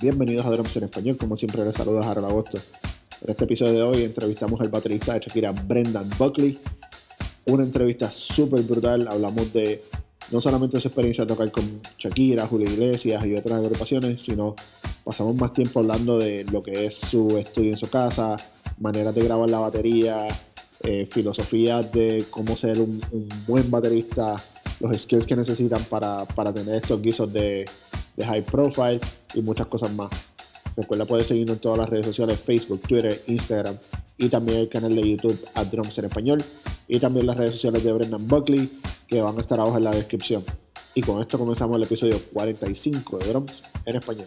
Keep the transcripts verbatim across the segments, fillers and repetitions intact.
Bienvenidos a Drums en Español, como siempre les saluda Harold Agosto. En este episodio de hoy entrevistamos al baterista de Shakira, Brendan Buckley. Una entrevista súper brutal, hablamos de no solamente su experiencia de tocar con Shakira, Julio Iglesias y otras agrupaciones, sino pasamos más tiempo hablando de lo que es su estudio en su casa, maneras de grabar la batería, eh, filosofías de cómo ser un, un buen baterista, los skills que necesitan para, para tener estos guisos de, de high profile y muchas cosas más. Recuerda, puedes seguirnos en todas las redes sociales, Facebook, Twitter, Instagram y también el canal de YouTube at Drums en Español y también las redes sociales de Brendan Buckley que van a estar abajo en la descripción. Y con esto comenzamos el episodio cuarenta y cinco de Drums en Español.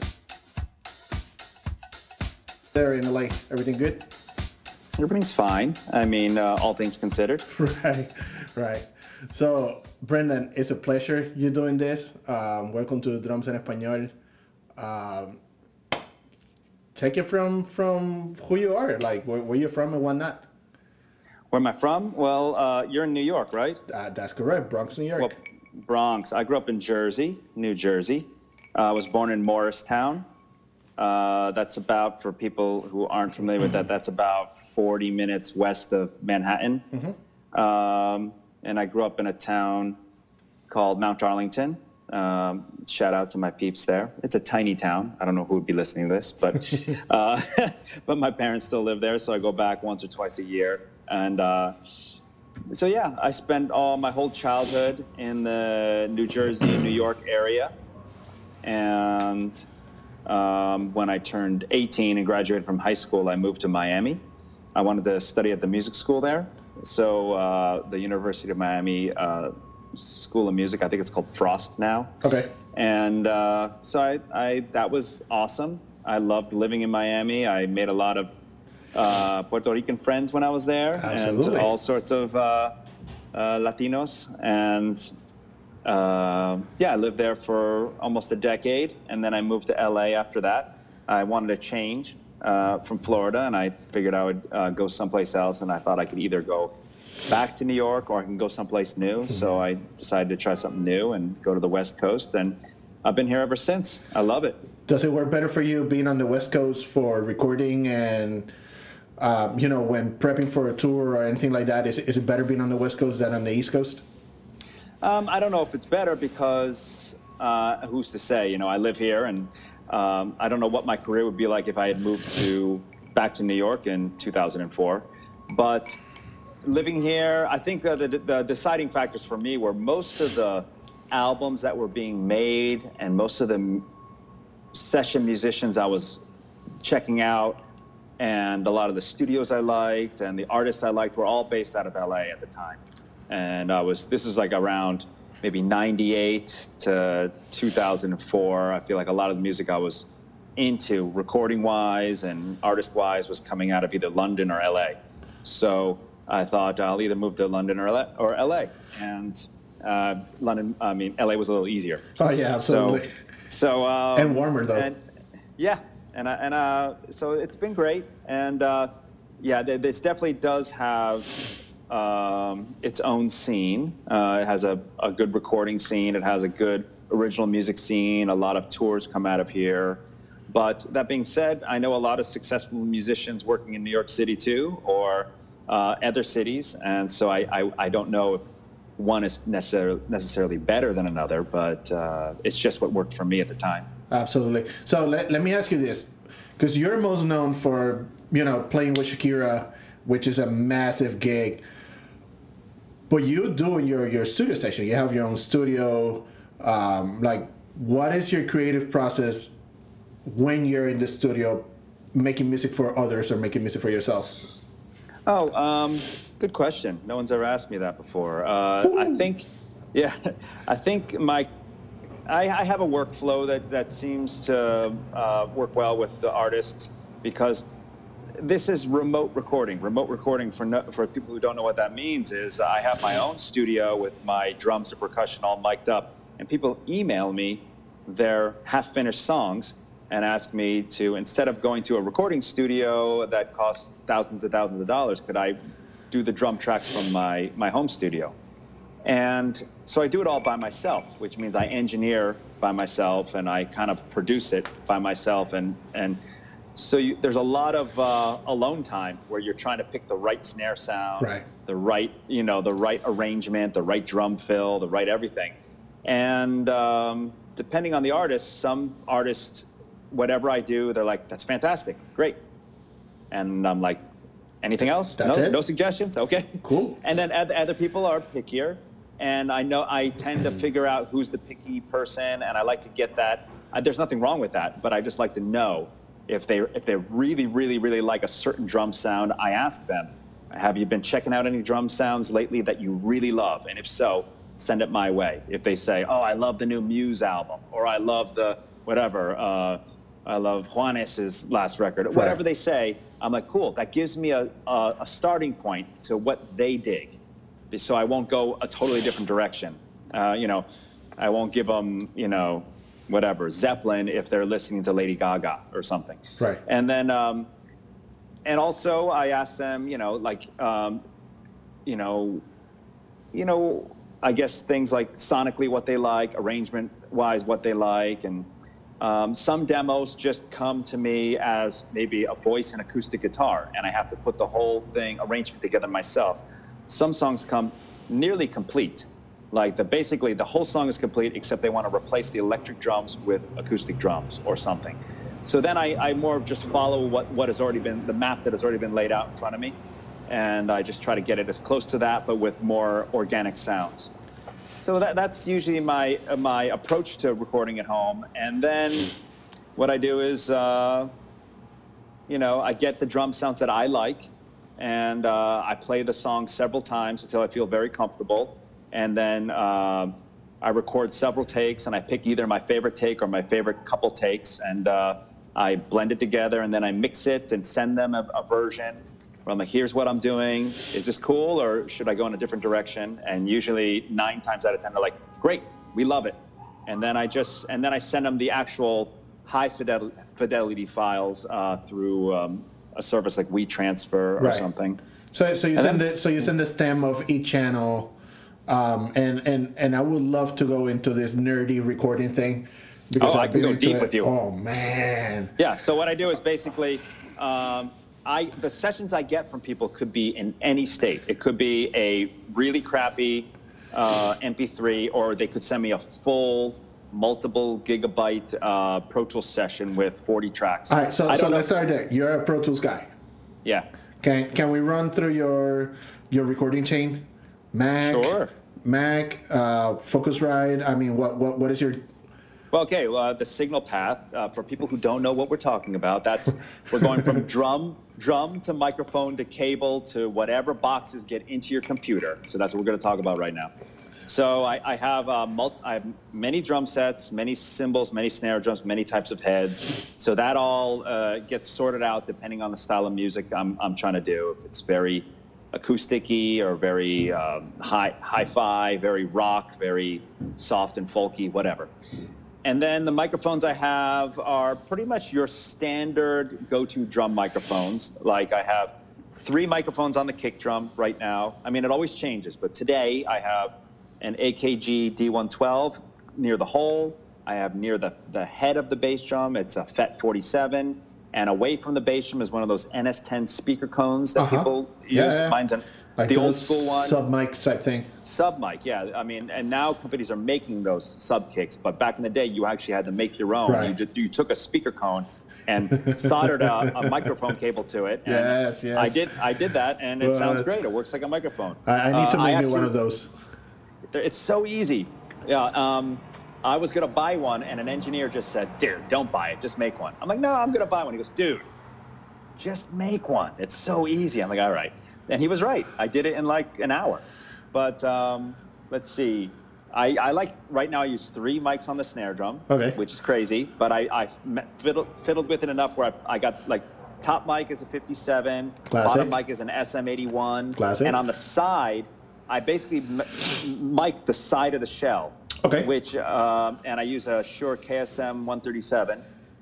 There in L A, everything good? Everything's fine. I mean, uh, all things considered. Right, right. So, Brendan, it's a pleasure you doing this. Um, welcome to Drums en Español. Um, take it from from who you are, like where, where you're from and whatnot. Where am I from? Well, uh, you're in New York, right? Uh, that's correct, Bronx, New York. Well, Bronx. I grew up in Jersey, New Jersey. Uh, I was born in Morristown. Uh, that's about, for people who aren't familiar with that, that's about forty minutes west of Manhattan. Mm-hmm. Um, and I grew up in a town called Mount Arlington. Um, shout out to my peeps there. It's a tiny town. I don't know who would be listening to this, but uh, but my parents still live there, so I go back once or twice a year. And uh, so, yeah, I spent all my whole childhood in the New Jersey and New York area. And um, when I turned eighteen and graduated from high school, I moved to Miami. I wanted to study at the music school there. So uh, the University of Miami uh, School of Music, I think it's called Frost now. Okay. And uh, so I, I, that was awesome. I loved living in Miami. I made a lot of uh, Puerto Rican friends when I was there. Absolutely. And all sorts of uh, uh, Latinos. And uh, yeah, I lived there for almost a decade. And then I moved to L A after that. I wanted to change uh, from Florida, and I figured I would uh, go someplace else. And I thought I could either go back to New York or I can go someplace new. So I decided to try something new and go to the West Coast, and I've been here ever since. I love it. Does it work better for you being on the West Coast for recording and, um, you know, when prepping for a tour or anything like that? Is, is it better being on the West Coast than on the East Coast? Um, I don't know if it's better because uh, who's to say? You know, I live here, and um, I don't know what my career would be like if I had moved to back to New York in two thousand four. But living here, I think uh, the, the deciding factors for me were most of the albums that were being made and most of the session musicians I was checking out and a lot of the studios I liked and the artists I liked were all based out of L A at the time. And I was, this is like around maybe ninety-eight to two thousand four. I feel like a lot of the music I was into recording-wise and artist-wise was coming out of either London or L A. So I thought I'll either move to London or L A, or L A. And uh, London, I mean, L A was a little easier. Oh, yeah, absolutely. So, so um, and warmer, though. And, yeah, and, and uh, so it's been great. And, uh, yeah, this definitely does have um, its own scene. Uh, it has a, a good recording scene. It has a good original music scene. A lot of tours come out of here. But that being said, I know a lot of successful musicians working in New York City, too, or Uh, other cities, and so I, I, I don't know if one is necessarily necessarily better than another, but uh, it's just what worked for me at the time. Absolutely. So let, let me ask you this, because you're most known for, you know, playing with Shakira, which is a massive gig, but you do in your, your studio session, you have your own studio, um, like, what is your creative process when you're in the studio making music for others or making music for yourself? Oh, um, good question. No one's ever asked me that before. Uh, I think, yeah, I think my, I, I have a workflow that, that seems to uh, work well with the artists because this is remote recording. Remote recording, for no, for people who don't know what that means, is I have my own studio with my drums and percussion all mic'd up, and people email me their half-finished songs and ask me to, instead of going to a recording studio that costs thousands and thousands of dollars, could I do the drum tracks from my, my home studio? And so I do it all by myself, which means I engineer by myself and I kind of produce it by myself. And, and so you, there's a lot of uh, alone time where you're trying to pick the right snare sound, right. the right, you know, the right arrangement, the right drum fill, the right everything. And um, depending on the artist, some artists, whatever I do, they're like, that's fantastic, great. And I'm like, anything else? That's no, it? no suggestions? Okay. Cool. And then other, other people are pickier. And I know I tend to figure out who's the picky person, and I like to get that. Uh, there's nothing wrong with that, but I just like to know if they if they really, really, really like a certain drum sound. I ask them, have you been checking out any drum sounds lately that you really love? And if so, send it my way. If they say, oh, I love the new Muse album, or I love the whatever, uh, I love Juanes's last record, right. Whatever they say, I'm like, cool. That gives me a, a, a starting point to what they dig. So I won't go a totally different direction. Uh, you know, I won't give them, you know, whatever, Zeppelin if they're listening to Lady Gaga or something. Right. And then, um, and also I ask them, you know, like, um, you know, you know, I guess things like sonically what they like, arrangement-wise what they like, and um, some demos just come to me as maybe a voice and acoustic guitar, and I have to put the whole thing, arrangement together myself. Some songs come nearly complete. Like the basically the whole song is complete except they want to replace the electric drums with acoustic drums or something. So then I, I more just follow what, what has already been, the map that has already been laid out in front of me. And I just try to get it as close to that, but with more organic sounds. So that, that's usually my, my approach to recording at home. And then what I do is, uh, you know, I get the drum sounds that I like. And uh, I play the song several times until I feel very comfortable. And then uh, I record several takes, and I pick either my favorite take or my favorite couple takes, and uh, I blend it together, and then I mix it and send them a, a version where I'm like, here's what I'm doing. Is this cool, or should I go in a different direction? And usually nine times out of ten, they're like, great, we love it. And then I just, and then I send them the actual high fidel- fidelity files uh, through um, a service like WeTransfer or right. something. So, so you send the, so you send the stem of each channel, um, and and and I would love to go into this nerdy recording thing because oh, I've I can been go into deep it. with you. Oh man. Yeah. So what I do is basically, um, I the sessions I get from people could be in any state. It could be a really crappy uh, M P three, or they could send me a full multiple gigabyte uh, Pro Tools session with forty tracks. All right, so, I so don't let's know. start there. You're a Pro Tools guy. Yeah. Can can we run through your your recording chain? Mac, Sure. Mac, uh, Focusrite. I mean, what what what is your? Well, okay. Well, uh, the signal path uh, for people who don't know what we're talking about. That's we're going from drum drum to microphone to cable to whatever boxes get into your computer. So that's what we're going to talk about right now. So I, I have uh, multi, I have many drum sets, many cymbals, many snare drums, many types of heads. So that all uh, gets sorted out depending on the style of music I'm I'm trying to do. If it's very acoustic-y or very um, high hi-fi, very rock, very soft and folky, whatever. And then the microphones I have are pretty much your standard go-to drum microphones. Like I have three microphones on the kick drum right now. I mean, it always changes, but today I have an A K G D one twelve near the hole. I have near the, the head of the bass drum, it's a F E T forty-seven. And away from the bass drum is one of those N S ten speaker cones that Uh-huh. people Yeah, use. yeah. Mine's an, Like the old those school one. sub mic type thing. Sub mic, yeah. I mean, and now companies are making those sub kicks, but back in the day, you actually had to make your own. Right. You, just, you took a speaker cone and soldered a, a microphone cable to it. And Yes, yes. I did. I did that, and it sounds What? great. It works like a microphone. I, I need to Uh, I make me actually- one of those. It's so easy. Yeah. Um, I was gonna buy one, and an engineer just said, "Dude, don't buy it. Just make one." I'm like, "No, I'm gonna buy one." He goes, "Dude, just make one. It's so easy." I'm like, "All right." And he was right. I did it in like an hour. But um, let's see. I, I like, right now I use three mics on the snare drum, Okay. which is crazy. But I, I fiddled, fiddled with it enough where I, I got like, top mic is a fifty-seven, Classic. bottom mic is an S M eighty-one. Classic. And on the side, I basically m- mic the side of the shell. Okay. Which, um, and I use a Shure K S M one thirty-seven.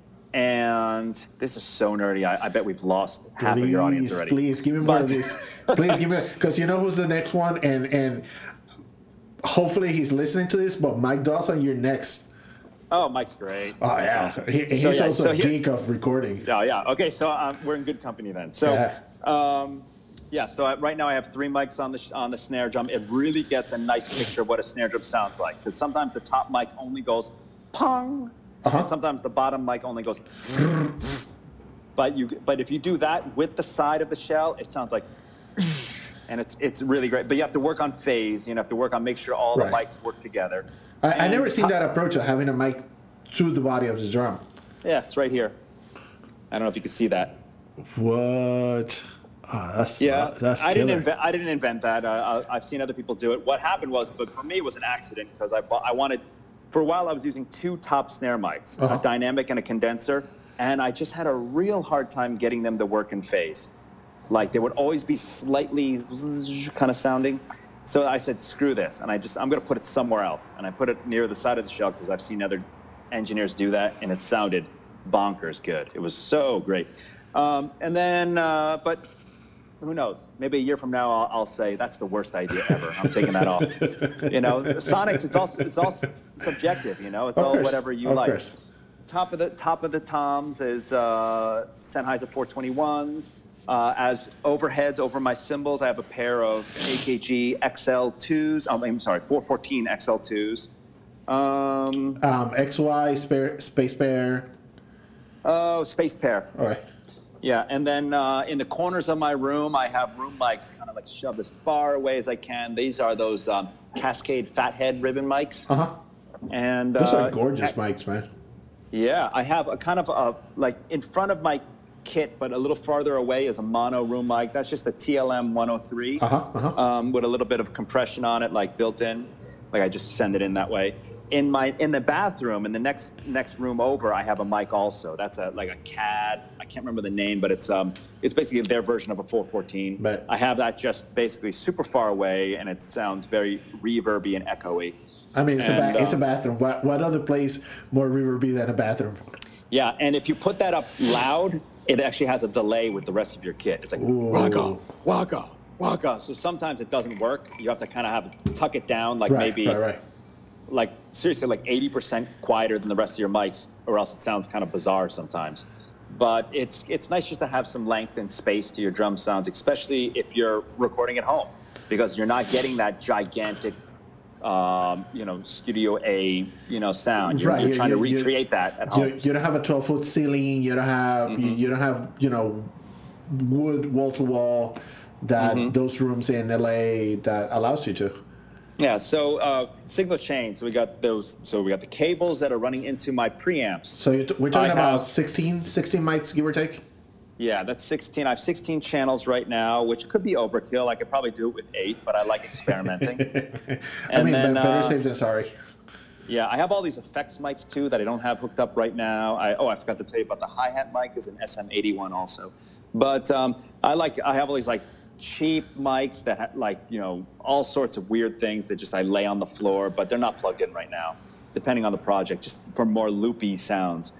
And this is so nerdy. I, I bet we've lost half Please, of your audience already. please give me more of But- this. Please give me, because you know who's the next one, and and hopefully he's listening to this, but Mike Dawson, you're next. Oh, Mike's great. Oh, That's yeah. awesome. He, he's So, yeah, also so a here- geek of recording. Oh, yeah. Okay, so um, we're in good company then. So, Yeah. um, yeah. So I, right now I have three mics on the sh- on the snare drum. It really gets a nice picture of what a snare drum sounds like, because sometimes the top mic only goes pong, Uh-huh. and sometimes the bottom mic only goes. But you, but if you do that with the side of the shell, it sounds like, and it's it's really great. But you have to work on phase. You have to work on make sure all Right. the mics work together. I, I And never the seen top- that approach of having a mic through the body of the drum. Yeah, it's right here. I don't know if you can see that. What? Oh, that's Yeah, that's I killer. didn't invent. I didn't invent that. Uh, I- I've seen other people do it. What happened was, but for me, it was an accident because I bought, I wanted. For a while, I was using two top snare mics, Uh-huh. a dynamic and a condenser, and I just had a real hard time getting them to work in phase. Like they would always be slightly kind of sounding. So I said, screw this, and I just I'm going to put it somewhere else, and I put it near the side of the shell because I've seen other engineers do that, and it sounded bonkers good. It was so great. Um, and then, uh, but. Who knows? Maybe a year from now, I'll, I'll say that's the worst idea ever. I'm taking that off. You know, Sonics. It's all it's all subjective. You know, it's Of all course, whatever you of like. course. Top of the top of the toms is uh, Sennheiser four twenty-ones. Uh, as overheads over my cymbals, I have a pair of A K G X L twos. Oh, I'm sorry, four fourteen X L twos. Um, Um, X Y spare, space pair. oh, spaced pair. All right. Yeah, and then uh, in the corners of my room, I have room mics kind of like shoved as far away as I can. These are those um, Cascade Fathead ribbon mics. Uh huh. And Those uh, are gorgeous I- mics, man. Yeah, I have a kind of a, like in front of my kit, but a little farther away is a mono room mic. That's just a T L M one oh three Uh huh. Uh huh. um, with a little bit of compression on it, like built in. Like I just send it in that way. In my in the bathroom, in the next next room over, I have a mic also. That's a like a C A D. I can't remember the name, but it's um it's basically their version of a four fourteen. But- I have that just basically super far away, and it sounds very reverby and echoey. I mean, it's a and, ba- it's a um, bathroom. What what other place more reverby than a bathroom? Yeah, and if you put that up loud, it actually has a delay with the rest of your kit. It's like Ooh. waka, waka, waka. So sometimes it doesn't work. You have to kind of have tuck it down, like Right. maybe Right. Right. like seriously like eighty percent quieter than the rest of your mics, or else it sounds kind of bizarre sometimes. But it's it's nice just to have some length and space to your drum sounds, especially if you're recording at home, because you're not getting that gigantic um, you know, Studio A, you know, sound. You're, Right, you're you- trying to you- you- recreate that at You, home. you don't have a twelve foot ceiling. You don't have you, Mm-hmm. you don't have you know wood wall to wall that Mm-hmm. those rooms in L A that allows you to. Yeah, so uh, signal chain. So we got those. So we got the cables that are running into my preamps. So you're t- we're talking I about have- sixteen, sixteen mics, give or take. Yeah, that's sixteen. I have sixteen channels right now, which could be overkill. I could probably do it with eight, but I like experimenting. I And mean, then, be- better uh, safe than sorry. Yeah, I have all these effects mics too that I don't have hooked up right now. I, oh, I forgot to tell you about the hi-hat mic is an S M eighty-one also. But um, I like I have all these like cheap mics that ha- like, you know, all sorts of weird things that just I lay on the floor, but they're not plugged in right now, depending on the project, just for more loopy sounds.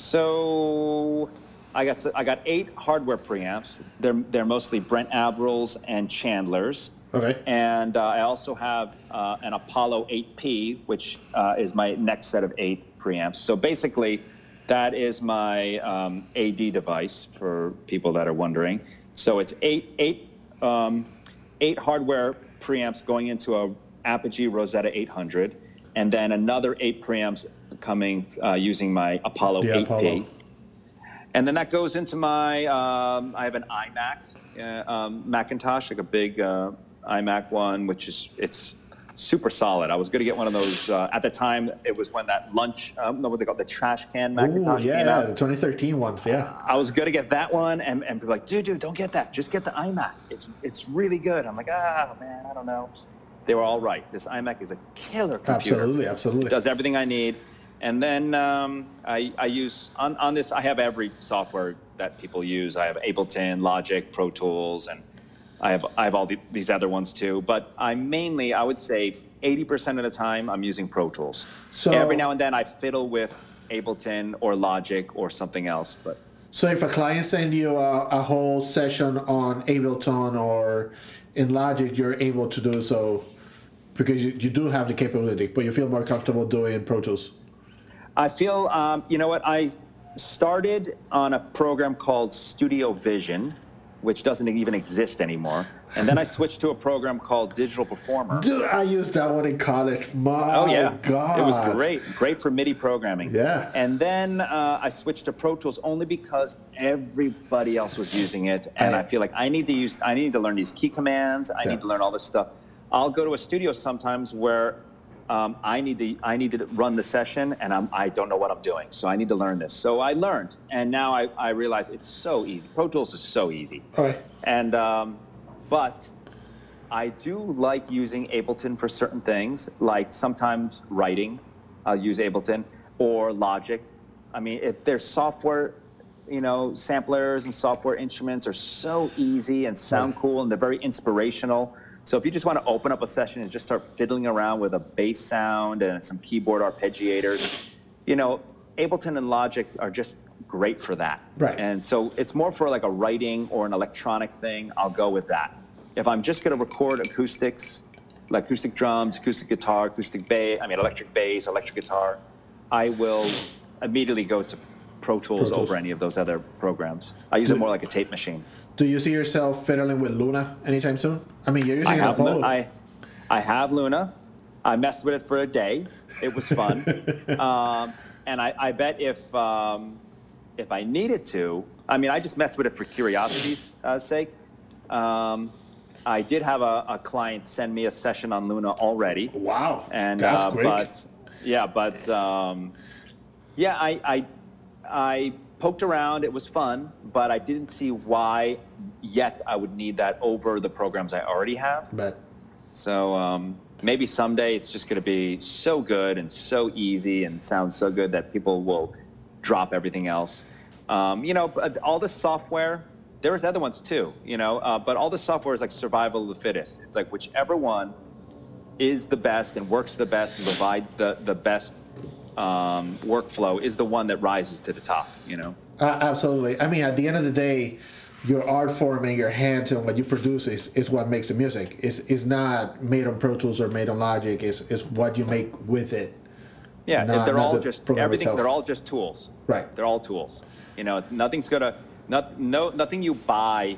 So I got s- I got eight hardware preamps. They're they're mostly Brent Averils and Chandlers. Okay. And uh, I also have uh, an Apollo eight P, which uh, is my next set of eight preamps. So basically, that is my um, A D device for people that are wondering. So it's eight eight um, eight hardware preamps going into a Apogee Rosetta eight hundred, and then another eight preamps coming uh, using my Apollo The eight P. Apollo. And then that goes into my, um, I have an iMac, uh, um, Macintosh, like a big uh, iMac one, which is, it's super solid. I was going to get one of those, uh, at the time, it was when that lunch, um, no, what they call the trash can Ooh, Macintosh yeah, came yeah, out. the twenty thirteen ones, yeah. I was going to get that one, and, and people were like, dude, dude, don't get that. Just get the iMac. It's it's really good. I'm like, ah, man, I don't know. They were all right. This iMac is a killer computer. Absolutely, absolutely. It does everything I need. And then um, I, I use, on, on this, I have every software that people use. I have Ableton, Logic, Pro Tools, and I have I have all the, these other ones too. But I mainly, I would say eighty percent of the time, I'm using Pro Tools. So- Every now and then I fiddle with Ableton or Logic or something else. But So if a client send you a, a whole session on Ableton or in Logic, you're able to do so because you, you do have the capability, but you feel more comfortable doing Pro Tools? I feel, um, you know what, I started on a program called Studio Vision, which doesn't even exist anymore. And then I switched to a program called Digital Performer. Dude, I used that one in college. My oh, yeah. God. It was great. Great for MIDI programming. Yeah. And then uh, I switched to Pro Tools only because everybody else was using it. And I, I feel like I need to use, I need to learn these key commands. I yeah. need to learn all this stuff. I'll go to a studio sometimes where um, I need to I need to run the session, and I'm, I don't know what I'm doing. So I need to learn this. So I learned, and now I, I realize it's so easy. Pro Tools is so easy. Okay. And um, but I do like using Ableton for certain things, like sometimes writing. I'll use Ableton or Logic. I mean, if there's software, you know, samplers and software instruments are so easy and sound right. cool, and they're very inspirational. So if you just want to open up a session and just start fiddling around with a bass sound and some keyboard arpeggiators, you know, Ableton and Logic are just great for that. Right. And so it's more for like a writing or an electronic thing. I'll go with that. If I'm just going to record acoustics, like acoustic drums, acoustic guitar, acoustic bass, I mean electric bass, electric guitar, I will immediately go to Pro Tools, Pro Tools. over any of those other programs. I use do, it more like a tape machine. Do you see yourself fiddling with Luna anytime soon? I mean, you're using I it have, Apollo. I, I have Luna. I messed with it for a day. It was fun. um, and I, I bet if um, if I needed to, I mean, I just messed with it for curiosity's uh, sake. Um, I did have a, a client send me a session on Luna already. Wow, and that's uh, quick. But yeah, but um, yeah, I, I I poked around. It was fun, but I didn't see why yet I would need that over the programs I already have. But so um, maybe someday it's just going to be so good and so easy and sounds so good that people will drop everything else. Um, you know, all the software. There's other ones too, you know, uh, but all the software is like survival of the fittest. It's like whichever one is the best and works the best and provides the, the best um, workflow is the one that rises to the top, you know? Uh, absolutely. I mean, at the end of the day, your art form and your hands and what you produce is, is what makes the music. It's, it's not made on Pro Tools or made on Logic. It's, it's what you make with it. Yeah, not, they're all the just, everything, itself. They're all just tools. Right. They're all tools. You know, it's, nothing's going to, Not, no, nothing you buy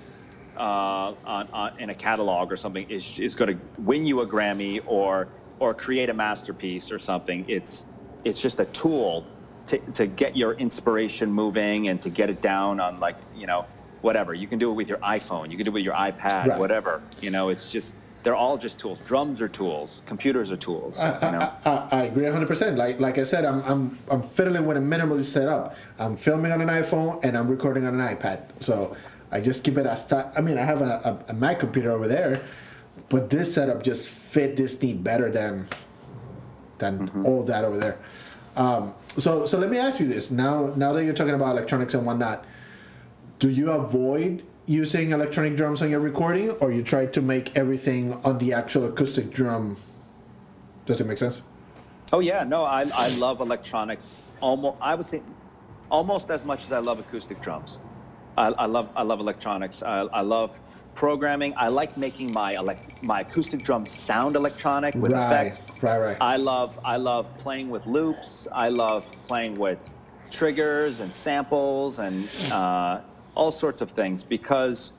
uh, on, on, in a catalog or something is, is going to win you a Grammy or or create a masterpiece or something. It's it's just a tool to, to get your inspiration moving and to get it down on, like, you know, whatever. You can do it with your iPhone. You can do it with your iPad, right. whatever. You know, it's just, they're all just tools. Drums are tools. Computers are tools. I, you know? I, I, I agree one hundred percent. Like like I said, I'm I'm I'm fiddling with a minimalist setup. I'm filming on an iPhone and I'm recording on an iPad. So I just keep it as tight. I mean, I have a, a, a Mac computer over there, but this setup just fit this need better than than mm-hmm. all that over there. Um, so so let me ask you this. Now now that you're talking about electronics and whatnot, do you avoid using electronic drums on your recording, or you try to make everything on the actual acoustic drum? Does it make sense? Oh yeah, no, I I love electronics almost. I would say almost as much as I love acoustic drums. I, I love I love electronics. I, I love programming. I like making my elect, my acoustic drums sound electronic with right, effects. Right, right. I love I love playing with loops. I love playing with triggers and samples and. Uh, all sorts of things, because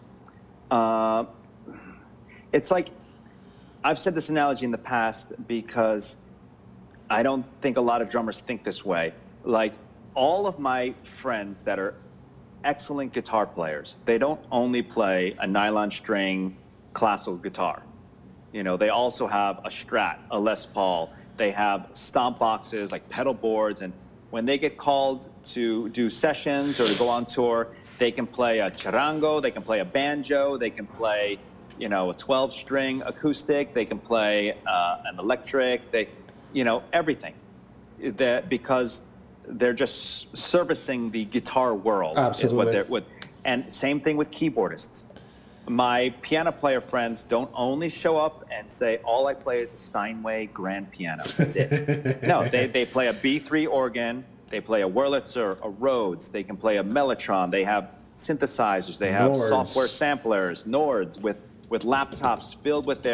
uh, it's like, I've said this analogy in the past because I don't think a lot of drummers think this way. Like, all of my friends that are excellent guitar players, they don't only play a nylon string classical guitar. You know, they also have a Strat, a Les Paul. They have stomp boxes, like pedal boards, and when they get called to do sessions or to go on tour, they can play a charango, they can play a banjo, they can play, you know, a twelve string acoustic, they can play uh, an electric, they, you know, everything. That because they're just servicing the guitar world. Absolutely. Is what they're, what, and same thing with keyboardists. My piano player friends don't only show up and say, all I play is a Steinway grand piano. That's it. No, they, they play a B three organ. They play a Wurlitzer, a Rhodes. They can play a Mellotron. They have synthesizers. They have Nords. software samplers, Nords, with, with laptops filled with their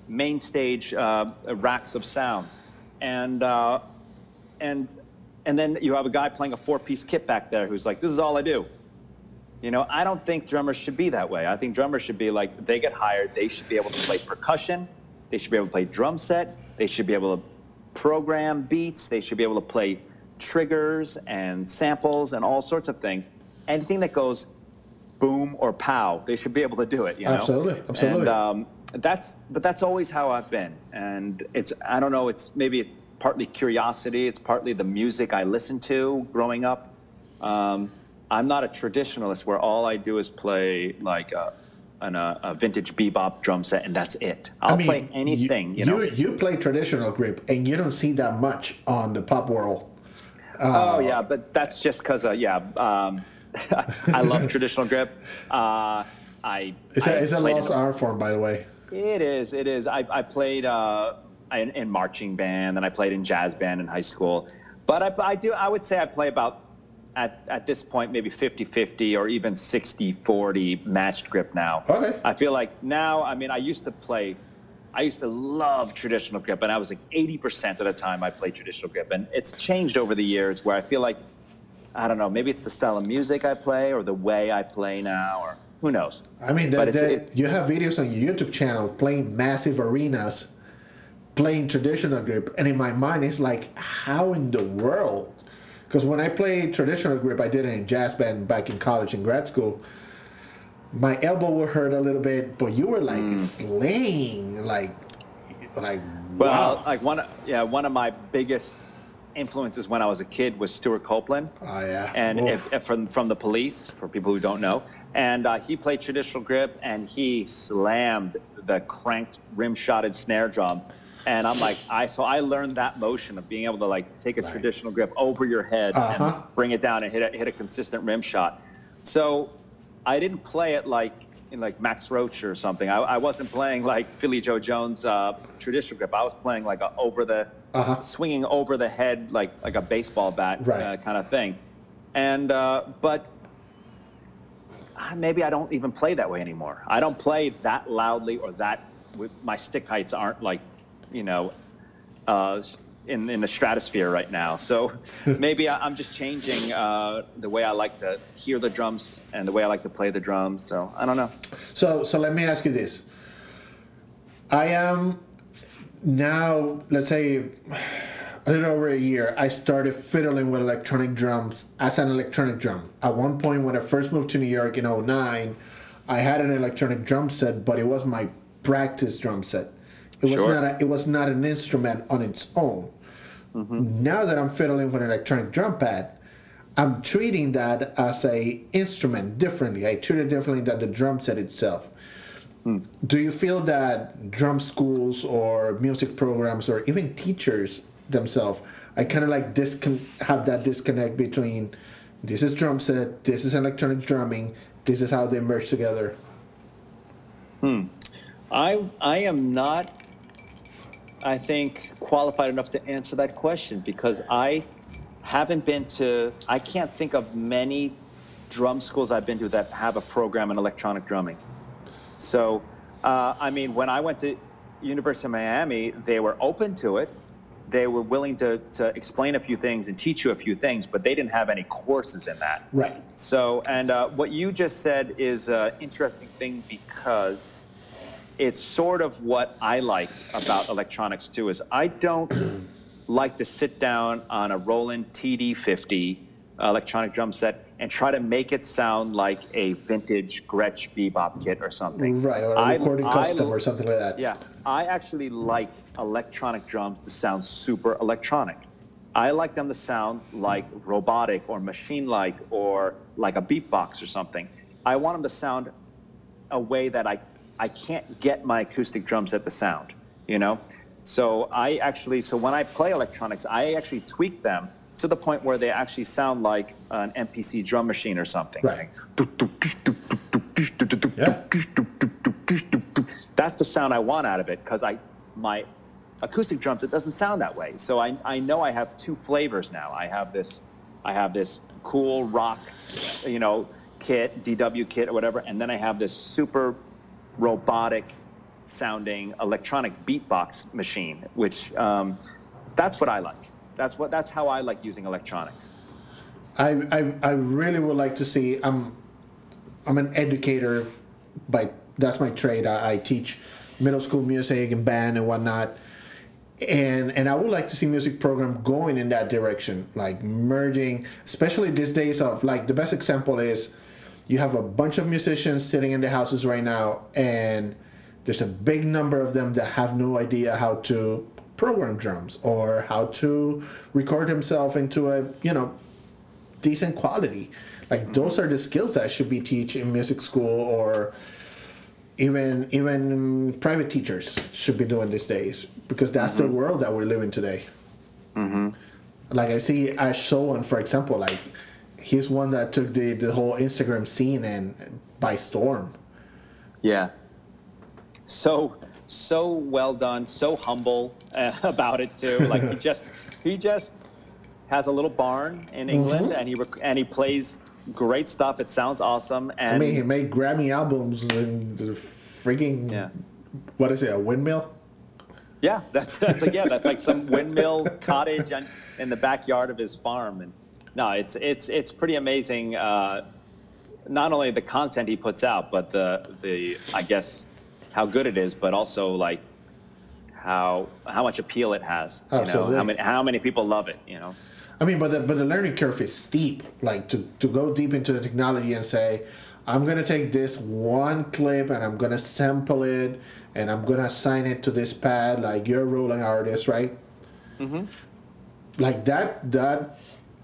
main stage uh, racks of sounds, and uh, and and then you have a guy playing a four-piece kit back there who's like, "This is all I do." You know, I don't think drummers should be that way. I think drummers should be like, they get hired, they should be able to play percussion, they should be able to play drum set, they should be able to program beats, they should be able to play triggers and samples and all sorts of things. Anything that goes boom or pow, they should be able to do it, you know? Absolutely, absolutely. And um, that's, but that's always how I've been. And it's, I don't know, it's maybe partly curiosity, it's partly the music I listened to growing up. Um, I'm not a traditionalist where all I do is play like a, an, a, a vintage bebop drum set and that's it. I'll I mean, play anything, you, you know? You play traditional grip, and you don't see that much on the pop world. Uh, oh, yeah, but that's just because, uh, yeah, um, I love traditional grip. Uh, I It's I a, it's a played lost in- art form, by the way. It is, it is. I, I played uh, in, in marching band, and I played in jazz band in high school. But I, I do, I would say I play about, At, at this point, maybe fifty fifty or even sixty forty matched grip now. Okay. I feel like now, I mean, I used to play, I used to love traditional grip, and I was like eighty percent of the time I played traditional grip. And it's changed over the years where I feel like, I don't know, maybe it's the style of music I play or the way I play now, or who knows. I mean, But the, it's- the, it- you have videos on your YouTube channel playing massive arenas, playing traditional grip, and in my mind, it's like, how in the world? Because when I played traditional grip, I did it in jazz band back in college and grad school. My elbow would hurt a little bit, but you were like Mm. slaying, like, like Well, wow. like one, yeah, one of my biggest influences when I was a kid was Stuart Copeland. Oh, yeah. And Oof. if, if from from the Police, for people who don't know, and uh, he played traditional grip, and he slammed the cranked rim-shotted snare drum, and I'm like, I so I learned that motion of being able to like take a Right. traditional grip over your head Uh-huh. and bring it down and hit a, hit a consistent rim shot. So I didn't play it like in like Max Roach or something. I, I wasn't playing like Philly Joe Jones uh, traditional grip. I was playing like a over the Uh-huh. swinging over the head like like a baseball bat Right. uh, kind of thing. And uh, but uh, maybe I don't even play that way anymore. I don't play that loudly or that with my stick heights aren't like, you know, uh, in in the stratosphere right now. So maybe I, I'm just changing uh, the way I like to hear the drums and the way I like to play the drums. So I don't know. So, so let me ask you this. I am now, let's say, a little over a year, I started fiddling with electronic drums as an electronic drum. At one point, when I first moved to New York in oh nine, I had an electronic drum set, but it was my practice drum set. It was Sure. not a, it was not an instrument on its own. Now that I'm fiddling with an electronic drum pad, I'm treating that as a instrument differently. I treat it differently than the drum set itself. Do you feel that drum schools or music programs or even teachers themselves, I kind of like discon- have that disconnect between this is drum set, this is electronic drumming, this is how they merge together? I I am not, I think, qualified enough to answer that question because I haven't been to, I can't think of many drum schools I've been to that have a program in electronic drumming. So, uh, I mean, when I went to University of Miami, they were open to it. They were willing to, to explain a few things and teach you a few things, but they didn't have any courses in that. Right. So, and uh, what you just said is an interesting thing because it's sort of what I like about electronics too, is I don't like to sit down on a Roland T D fifty electronic drum set and try to make it sound like a vintage Gretsch bebop kit or something. Right, or a I- recording I- custom or something like that. Yeah, I actually like electronic drums to sound super electronic. I like them to sound like robotic or machine-like or like a beatbox or something. I want them to sound a way that I, I can't get my acoustic drum set to sound, you know? So I actually, so when I play electronics, I actually tweak them to the point where they actually sound like an M P C drum machine or something. Right. Yeah. That's the sound I want out of it because I, my acoustic drums, it doesn't sound that way. So I, I know I have two flavors now. I have this, I have this cool rock, you know, kit, D W kit or whatever, and then I have this super robotic sounding electronic beatbox machine, which um, that's what I like. That's what that's how I like using electronics. I, I I really would like to see. I'm I'm an educator, by that's my trade. I, I teach middle school music and band and whatnot, and and I would like to see music program going in that direction, like merging, especially these days of like the best example is you have a bunch of musicians sitting in their houses right now, and there's a big number of them that have no idea how to program drums or how to record himself into a you know decent quality. Like those are the skills that should be taught in music school, or even even private teachers should be doing these days, because that's mm-hmm. the world that we're living today. Mm-hmm. Like I see Ash Sowan, for example, like he's one that took the, the whole Instagram scene and by storm. Yeah. So so well done, so humble uh, about it too. Like he just he just has a little barn in England, mm-hmm. and he rec- and he plays great stuff. It sounds awesome. And I mean, he made Grammy albums in the freaking yeah. what is it? A windmill? Yeah, that's that's like yeah, that's like some windmill cottage on, in the backyard of his farm. And no, it's it's it's pretty amazing. Uh, not only the content he puts out, but the the I guess how good it is, but also like how how much appeal it has. You Absolutely. know, how many how many people love it. You know. I mean, but the, but the learning curve is steep. Like to, to go deep into the technology and say, I'm gonna take this one clip and I'm gonna sample it and I'm gonna assign it to this pad. Like you're a rolling artist, right? Mm-hmm. Like that that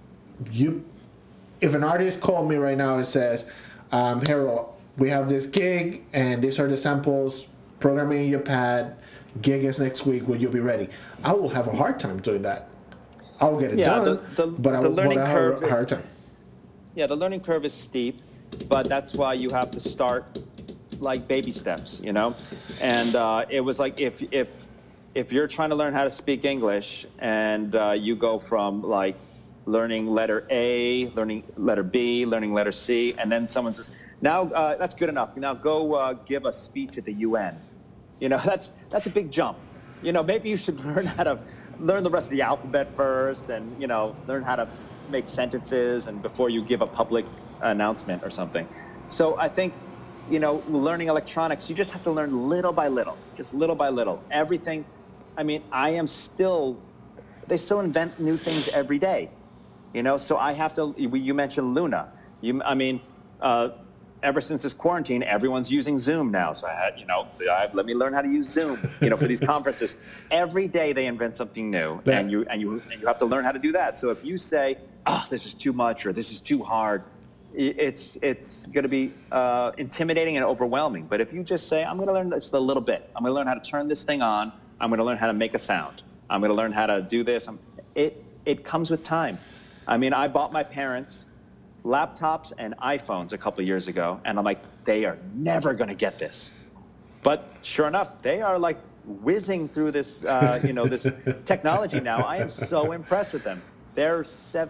you, if an artist called me right now and says, um, Harold, we have this gig and these are the samples. Programming your pad. Gig is next week. Will you be ready? I will have a hard time doing that. I'll get it yeah, done, the, the, but I the will learning have curve, a hard time. Yeah, the learning curve is steep, but that's why you have to start like baby steps, you know? And uh, it was like if if if you're trying to learn how to speak English and uh, you go from like learning letter A, learning letter B, learning letter C, and then someone says, now uh, that's good enough. Now go uh, give a speech at the U N. You know, that's that's a big jump. You know, maybe you should learn how to learn the rest of the alphabet first, and you know, learn how to make sentences, and before you give a public announcement or something. So I think, you know, learning electronics, you just have to learn little by little, just little by little. Everything. I mean, I am still. They still invent new things every day. You know, so I have to. You mentioned Luna. You, I mean. Uh, Ever since this quarantine, everyone's using Zoom now. So I had, you know, I, let me learn how to use Zoom, you know, for these conferences. Every day they invent something new, yeah. and you and you and you have to learn how to do that. So if you say, "Oh, this is too much," or "This is too hard," it's it's going to be uh, intimidating and overwhelming. But if you just say, "I'm going to learn just a little bit. I'm going to learn how to turn this thing on. I'm going to learn how to make a sound. I'm going to learn how to do this," it it comes with time. I mean, I bought my parents laptops and iPhones a couple of years ago, and I'm like, they are never going to get this. But sure enough, they are like whizzing through this, uh, you know, this technology now. I am so impressed with them. They're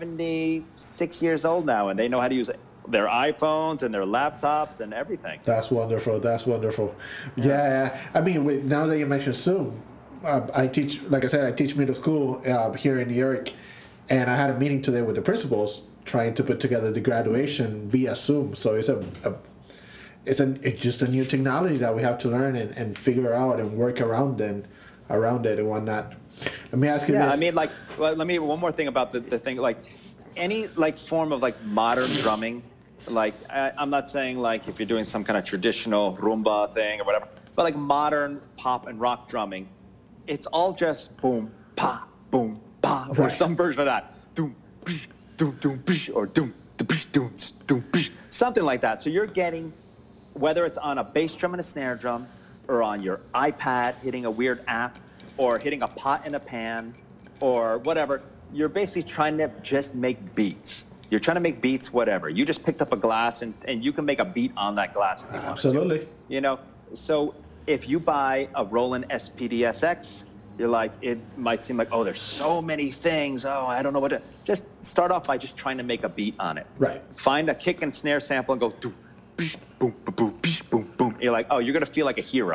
seventy-six years old now, and they know how to use their iPhones and their laptops and everything. That's wonderful. That's wonderful. Yeah, yeah. I mean, with, now that you mentioned Zoom, uh, I teach, like I said, I teach middle school uh, here in New York, and I had a meeting today with the principals, trying to put together the graduation via Zoom. So it's a, a it's a it's just a new technology that we have to learn and, and figure out and work around and around it and whatnot. Let me ask you yeah, this. I mean, like, well, let me one more thing about the, the thing, like any like form of like modern drumming. Like I, I'm not saying like if you're doing some kind of traditional rumba thing or whatever, but like modern pop and rock drumming, it's all just boom pa boom pa or right. some version of that. Boom. Doom, doom, or doom, doom, doom, something like that. So you're getting, whether it's on a bass drum and a snare drum, or on your iPad hitting a weird app, or hitting a pot in a pan, or whatever, you're basically trying to just make beats. You're trying to make beats, whatever. You just picked up a glass, and, and you can make a beat on that glass if you Absolutely. want to. You know, so if you buy a Roland S P D S X, you're like, it might seem like, oh, there's so many things. Oh, I don't know what to. Just start off by just trying to make a beat on it. Right. Find a kick and snare sample and go, boom, boom, boom, boom, boom, boom. You're like, oh, you're going to feel like a hero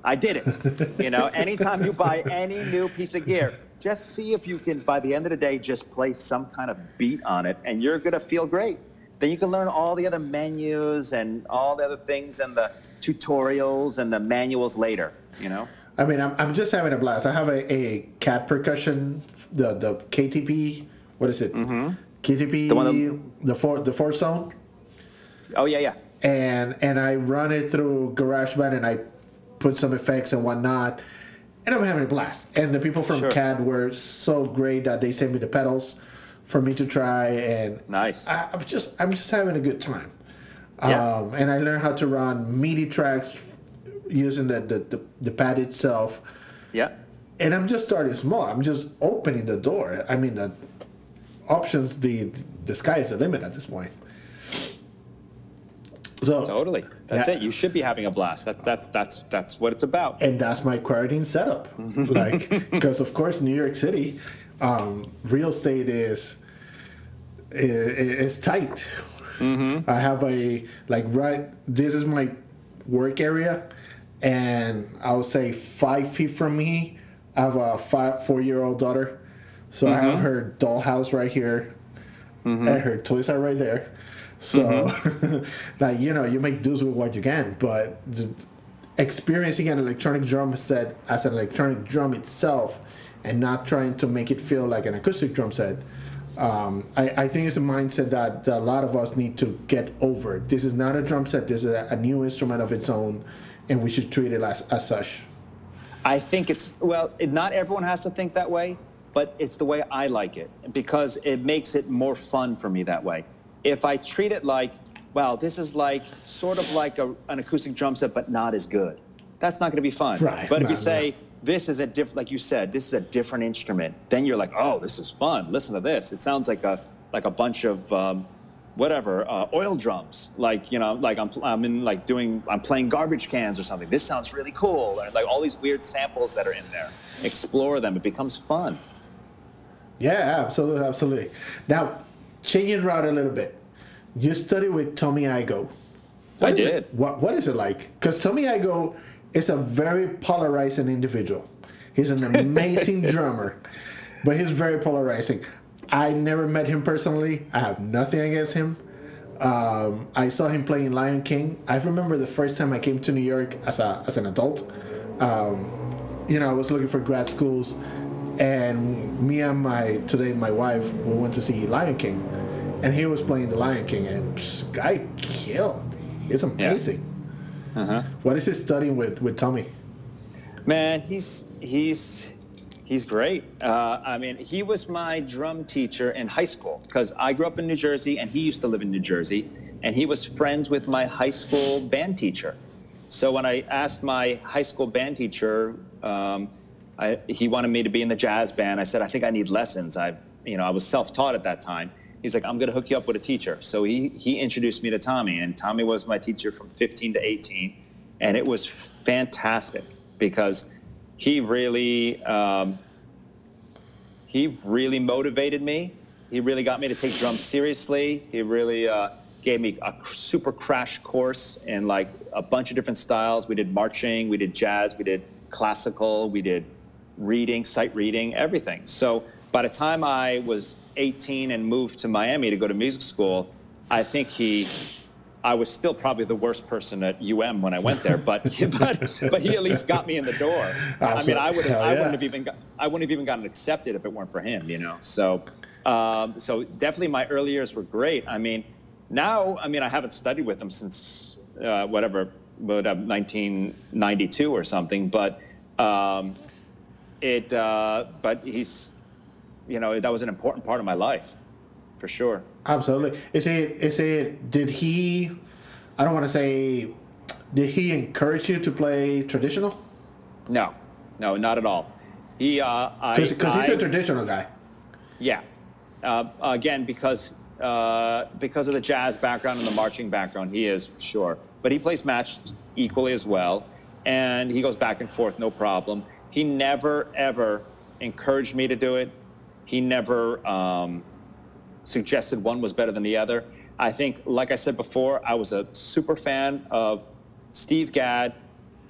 I did it. You know, anytime you buy any new piece of gear, just see if you can, by the end of the day, just place some kind of beat on it, and you're going to feel great. Then you can learn all the other menus and all the other things and the tutorials and the manuals later, you know? I mean, I'm, I'm just having a blast. I have a, a cat percussion, the the K T P, what is it? Mm-hmm. K T P, The one that- the four the four zone, Oh, yeah, yeah. and and I run it through GarageBand and I put some effects and whatnot, and I'm having a blast. And the people from Sure. C A D were so great that they sent me the pedals for me to try, and Nice. I, I'm just I'm just having a good time. Yeah. Um, and I learned how to run MIDI tracks using the the, the, the pad itself. Yeah. And I'm just starting small. I'm just opening the door. I mean, the options, the the sky is the limit at this point. So Totally. That's Yeah. it. You should be having a blast. That, that's that's that's what it's about. and that's my quarantine setup. Like, because of course, New York City, um, real estate is is, is tight. Mm-hmm. I have a like right. This is my work area, and I would say five feet from me, I have a five four year old daughter. So I have her dollhouse right here, and her toys are right there. So, like, you know, you make do with what you can, but just experiencing an electronic drum set as an electronic drum itself and not trying to make it feel like an acoustic drum set, um, I, I think it's a mindset that, that a lot of us need to get over. This is not a drum set, this is a, a new instrument of its own, and we should treat it as, as such. I think it's, well, it, not everyone has to think that way, but it's the way I like it because it makes it more fun for me that way. If I treat it like, well, this is like sort of like a, an acoustic drum set, but not as good, that's not going to be fun. Right. But if No, you say, no. this is a different, like you said, this is a different instrument, then you're like, oh, this is fun. Listen to this. It sounds like a like a bunch of um, whatever uh, oil drums. Like, you know, like I'm I'm in like doing I'm playing garbage cans or something. This sounds really cool. And like all these weird samples that are in there. Explore them. It becomes fun. Yeah, absolutely, absolutely. Now, changing route a little bit. You studied with Tommy Igoe. What I is did. It? What What is it like? Because Tommy Igoe is a very polarizing individual. He's an amazing drummer, but he's very polarizing. I never met him personally. I have nothing against him. Um, I saw him playing Lion King. I remember the first time I came to New York as a as an adult. Um, you know, I was looking for grad schools, and me and my today my wife we went to see Lion King, and he was playing the Lion King, and psh, guy killed. He's amazing. Uh-huh. What is he studying with with Tommy? Man, he's he's he's great. Uh, I mean, he was my drum teacher in high school because I grew up in New Jersey and he used to live in New Jersey, and he was friends with my high school band teacher. So when I asked my high school band teacher, um, I, he wanted me to be in the jazz band. I said, I think I need lessons. I, you know, I was self-taught at that time. He's like, I'm going to hook you up with a teacher. So he he introduced me to Tommy, and Tommy was my teacher from fifteen to eighteen, and it was fantastic because he really um, he really motivated me. He really got me to take drums seriously. He really uh, gave me a super crash course in like a bunch of different styles. We did marching, we did jazz, we did classical, we did reading, sight reading, everything. So by the time I was eighteen and moved to Miami to go to music school, I think he, I was still probably the worst person at U M when I went there, but but but he at least got me in the door. I mean, I would Hell I yeah. wouldn't have even got, I wouldn't have even gotten accepted if it weren't for him, you know. So um, so definitely my early years were great. I mean, now I mean I haven't studied with him since uh, whatever, but uh, nineteen ninety-two or something, but um, it uh, but he's. You know, that was an important part of my life, for sure. Absolutely. Is it? Is it? Did he? I don't want to say. Did he encourage you to play traditional? No, no, not at all. He, uh, I, Because he's a I- traditional guy. yeah. Uh, again, because uh, because of the jazz background and the marching background, he is for sure. But he plays matched equally as well, and he goes back and forth, no problem. He never ever encouraged me to do it. He never um, suggested one was better than the other. I think, like I said before, I was a super fan of Steve Gadd,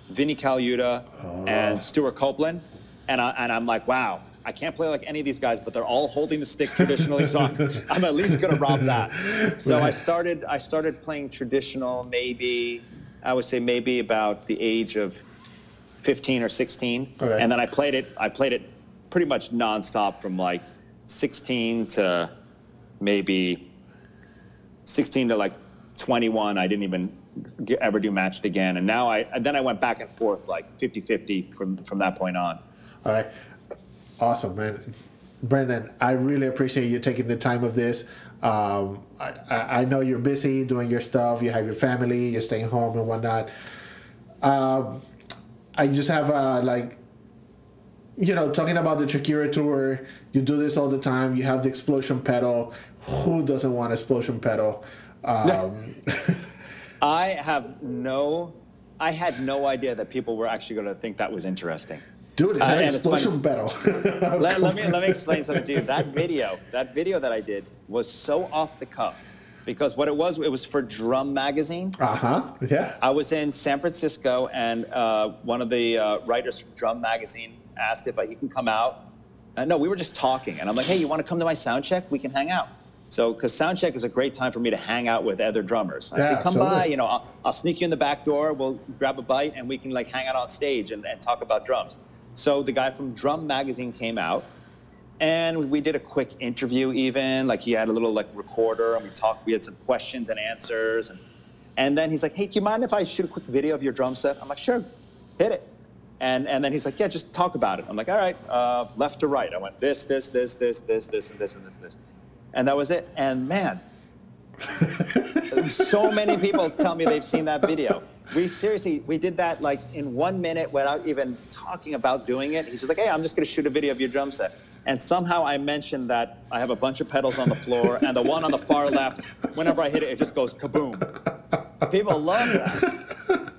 Vinnie Colaiuta, Oh. and Stuart Copeland, and I, and I'm like, wow, I can't play like any of these guys, but they're all holding the stick traditionally, so I'm, I'm at least gonna rob that. So I started I started playing traditional, maybe I would say maybe about the age of fifteen or sixteen, Okay. and then I played it. I played it pretty much nonstop from like sixteen to maybe sixteen to like twenty-one. I didn't even get, ever do matched again, and now I and then I went back and forth like fifty-fifty from from that point on. All right. Awesome, man. Brendan, I really appreciate you taking the time of this. Um, I, I I know you're busy doing your stuff. You have your family. You're staying home and whatnot. Um, I just have uh, like, you know, talking about the Shakira tour. You do this all the time. You have the explosion pedal. Who doesn't want explosion pedal? Um, I have no. I had no idea that people were actually going to think that was interesting. Dude, it's Uh, an and it's explosion pedal. let, let me let me explain something to you. That video, that video that I did was so off the cuff, because what it was, it was for Drum Magazine. Uh huh. Yeah. I was in San Francisco, and uh, one of the uh, writers from Drum Magazine asked if I, he can come out. Uh, no, we were just talking, and I'm like, hey, you want to come to my sound check? We can hang out. So, because sound check is a great time for me to hang out with other drummers. I Yeah, said, come absolutely. by, you know, I'll, I'll sneak you in the back door. We'll grab a bite, and we can like hang out on stage and, and talk about drums. So the guy from Drum Magazine came out, and we did a quick interview even. Like, he had a little, like, recorder, and we talked. We had some questions and answers. And, and then he's like, hey, do you mind if I shoot a quick video of your drum set? I'm like, sure, hit it. And, and then he's like, yeah, just talk about it. I'm like, all right, uh, left to right. I went this, this, this, this, this, this, and this, and this, this. And that was it. And, man, so many people tell me they've seen that video. We seriously, we did that like in one minute without even talking about doing it. He's just like, hey, I'm just going to shoot a video of your drum set. And somehow I mentioned that I have a bunch of pedals on the floor, and the one on the far left, whenever I hit it, it just goes kaboom. People love that.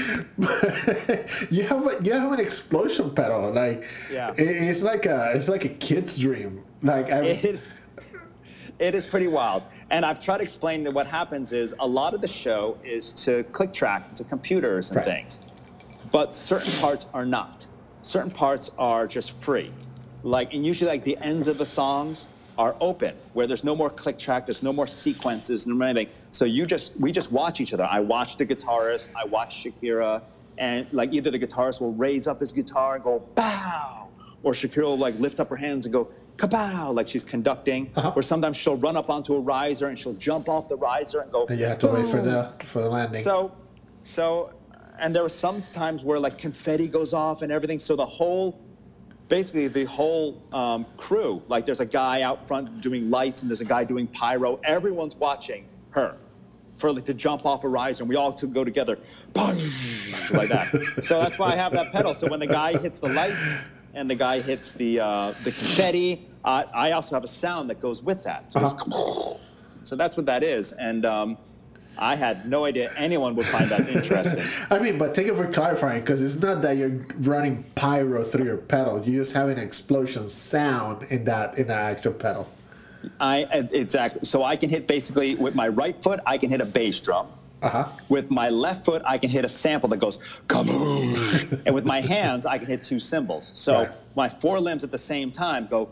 you have a, you have an explosion pedal. Like, Yeah. it, it's like a it's like a kid's dream. Like, I, It, it is pretty wild. And I've tried to explain that what happens is a lot of the show is to click track, to computers and Right. things. But certain parts are not. Certain parts are just free. Like, and usually like the ends of the songs are open, where there's no more click track, there's no more sequences, no more anything. So you just, we just watch each other. I watch the guitarist, I watch Shakira, and like either the guitarist will raise up his guitar and go, bow, or Shakira will like lift up her hands and go, kapow, like she's conducting, Uh-huh. or sometimes she'll run up onto a riser and she'll jump off the riser and go, and you have to wait for boom. the for the landing. So, so, and there were some times where like confetti goes off and everything. So the whole, basically the whole um, crew, like there's a guy out front doing lights and there's a guy doing pyro. Everyone's watching her for like to jump off a riser, and we all to go together, like that. So that's why I have that pedal. So when the guy hits the lights and the guy hits the uh, the confetti, uh, I also have a sound that goes with that. So, Uh-huh. it's, so that's what that is. And um, I had no idea anyone would find that interesting. I mean, but thank you for clarifying, because it's not that you're running pyro through your pedal. You just have an explosion sound in that in that actual pedal. I exactly. So I can hit basically with my right foot, I can hit a bass drum. Uh huh. With my left foot, I can hit a sample that goes kaboom. And with my hands, I can hit two cymbals. So Right. my four limbs at the same time go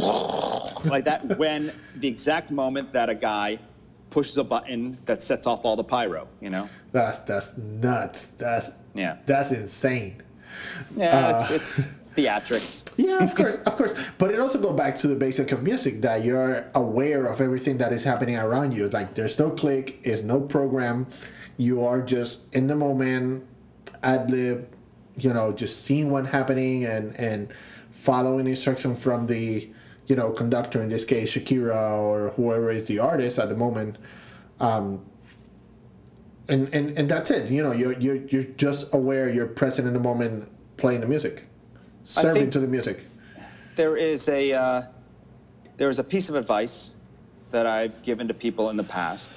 like that when the exact moment that a guy pushes a button that sets off all the pyro, you know? That's that's nuts. That's Yeah. That's insane. Yeah, it's, it's theatrics. Yeah, of course, of course. But it also goes back to the basic of music, that you're aware of everything that is happening around you. Like, there's no click, there's no program. You are just in the moment, ad lib, you know, just seeing what's happening and, and following instruction from the, you know, conductor, in this case, Shakira, or whoever is the artist at the moment. Um, and, and, and that's it. You know, you're, you're, you're just aware, you're present in the moment, playing the music. Serving think- to the music. There is a uh, there is a piece of advice that I've given to people in the past,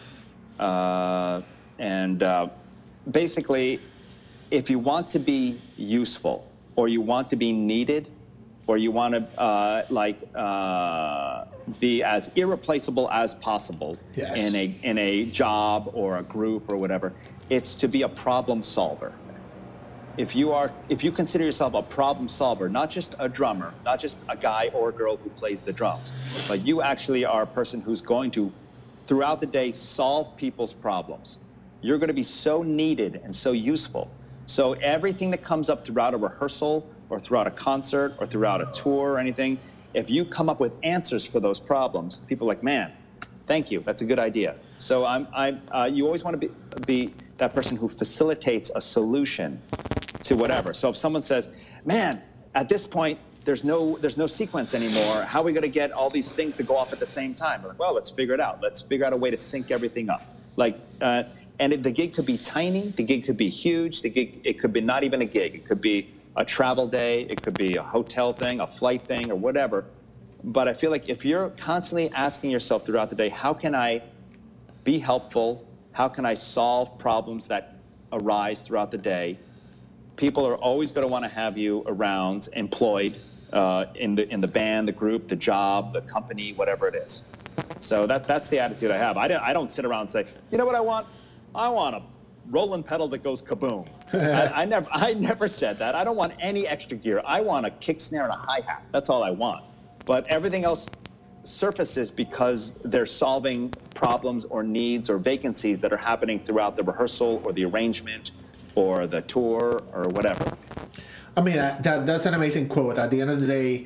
uh, and uh, basically, if you want to be useful, or you want to be needed, or you want to uh, like uh, be as irreplaceable as possible Yes. in a in a job or a group or whatever, it's to be a problem solver. if you are, if you consider yourself a problem solver, not just a drummer, not just a guy or a girl who plays the drums, but you actually are a person who's going to, throughout the day, solve people's problems. You're going to be so needed and so useful. So everything that comes up throughout a rehearsal or throughout a concert or throughout a tour or anything, if you come up with answers for those problems, people are like, man, thank you, that's a good idea. So I'm, I'm, uh, you always want to be, be that person who facilitates a solution to whatever. So if someone says, man, at this point, there's no, there's no sequence anymore. How are we going to get all these things to go off at the same time? We're like, well, let's figure it out. Let's figure out a way to sync everything up. Like, uh, and it, the gig could be tiny, the gig could be huge, the gig, it could be not even a gig. It could be a travel day, it could be a hotel thing, a flight thing, or whatever. But I feel like if you're constantly asking yourself throughout the day, how can I be helpful? How can I solve problems that arise throughout the day? People are always going to want to have you around, employed uh, in the in the band, the group, the job, the company, whatever it is. So that that's the attitude I have. I don't I don't sit around and say, you know what I want? I want a rolling pedal that goes kaboom. I, I never I never said that. I don't want any extra gear. I want a kick snare and a hi-hat. That's all I want. But everything else surfaces because they're solving problems or needs or vacancies that are happening throughout the rehearsal or the arrangement or the tour or whatever. I mean, uh, that that's an amazing quote. At the end of the day,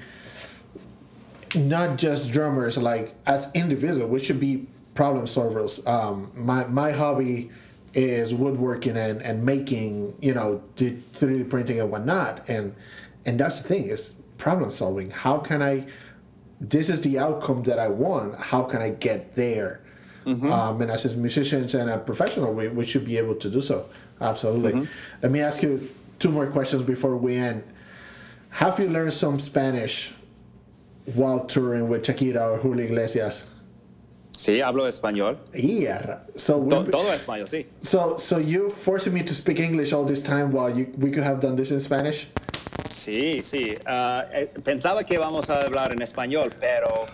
not just drummers, like as individuals, we should be problem solvers. Um, my my hobby is woodworking and, and making, you know, three D printing and whatnot. And and that's the thing, is problem solving. How can I, this is the outcome that I want. How can I get there? Mm-hmm. Um, and as musicians and a professional, we, we should be able to do so. Absolutely. Mm-hmm. Let me ask you two more questions before we end. Have you learned some Spanish while touring with Shakira or Julio Iglesias? Sí, hablo español. Yeah. So todo, todo español, sí. So, so you forcing me to speak English all this time while you, we could have done this in Spanish? Sí, sí. Uh, pensaba que íbamos a hablar en español, pero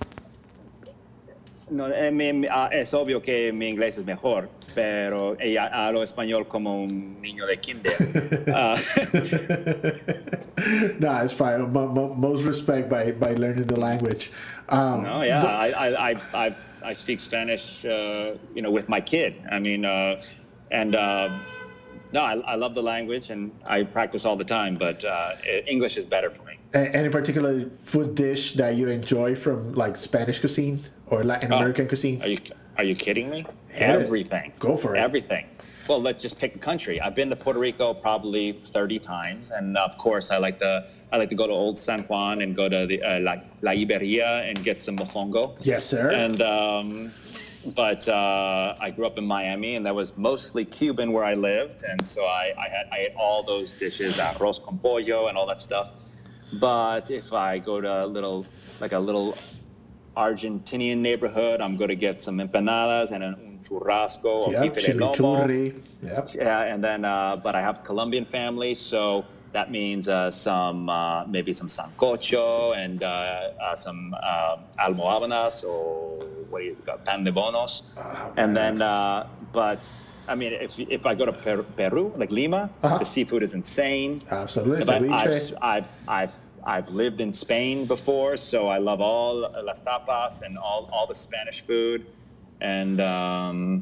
no, eh, mi, uh, es obvio que mi inglés es mejor, pero ella hablo español como un niño de kinder. uh, no, it's fine. M- m- most respect by, by learning the language. Um, no, yeah, but, I, I, I, I, I speak Spanish, uh, you know, with my kid. I mean, uh, and uh, no, I, I love the language and I practice all the time, but uh, English is better for me. Any particular food dish that you enjoy from like Spanish cuisine or Latin oh, American cuisine? Are you are you kidding me? Hit Everything. It. Go for it. Everything. Well, let's just pick a country. I've been to Puerto Rico probably thirty times, and of course, I like to I like to go to Old San Juan and go to the uh, La, La Iberia and get some mofongo. Yes, sir. And um, but uh, I grew up in Miami, and that was mostly Cuban where I lived, and so I I, had, I ate all those dishes, arroz con pollo, and all that stuff. But if I go to a little like a little Argentinian neighborhood, I'm going to get some empanadas and un churrasco or yep, bife de lomo. Yep. Yeah, and then, uh, but I have a Colombian family, so that means uh, some, uh, maybe some sancocho and uh, uh, some uh, almohábanas or what do you got, pan de bonos. Oh, and then, uh, but I mean, if if I go to Peru, Peru like Lima, uh-huh. the seafood is insane. Absolutely, but I've, I've, I've I've lived in Spain before, so I love all las tapas and all, all the Spanish food, and um,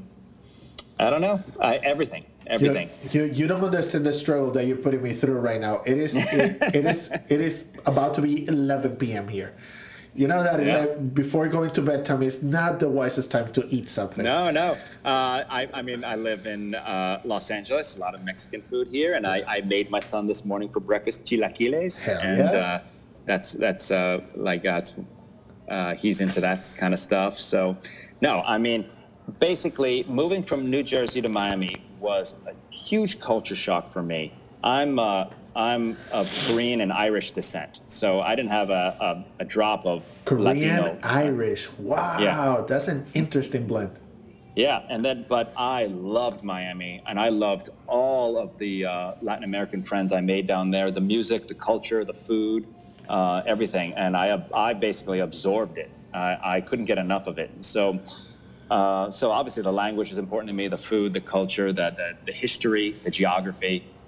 I don't know, I, everything, everything. You, you you don't understand the struggle that you're putting me through right now. It is it, it is it is about to be eleven p.m. here. You know that yeah. uh, before going to bedtime is not the wisest time to eat something. No, no. Uh, I, I mean, I live in uh, Los Angeles, a lot of Mexican food here, and I, I made my son this morning for breakfast chilaquiles. Hell and yeah. uh, that's, that's uh, like, uh, uh, he's into that kind of stuff. So, no, I mean, basically, moving from New Jersey to Miami was a huge culture shock for me. I'm... Uh, I'm of Korean and Irish descent, so I didn't have a, a, a drop of Korean, Latino. Irish. Wow, yeah. That's an interesting blend. Yeah, and then, but I loved Miami, and I loved all of the uh, Latin American friends I made down there, the music, the culture, the food, uh, everything, and I I basically absorbed it. I, I couldn't get enough of it. So, uh, so obviously the language is important to me, the food, the culture, the, the, the history, the geography.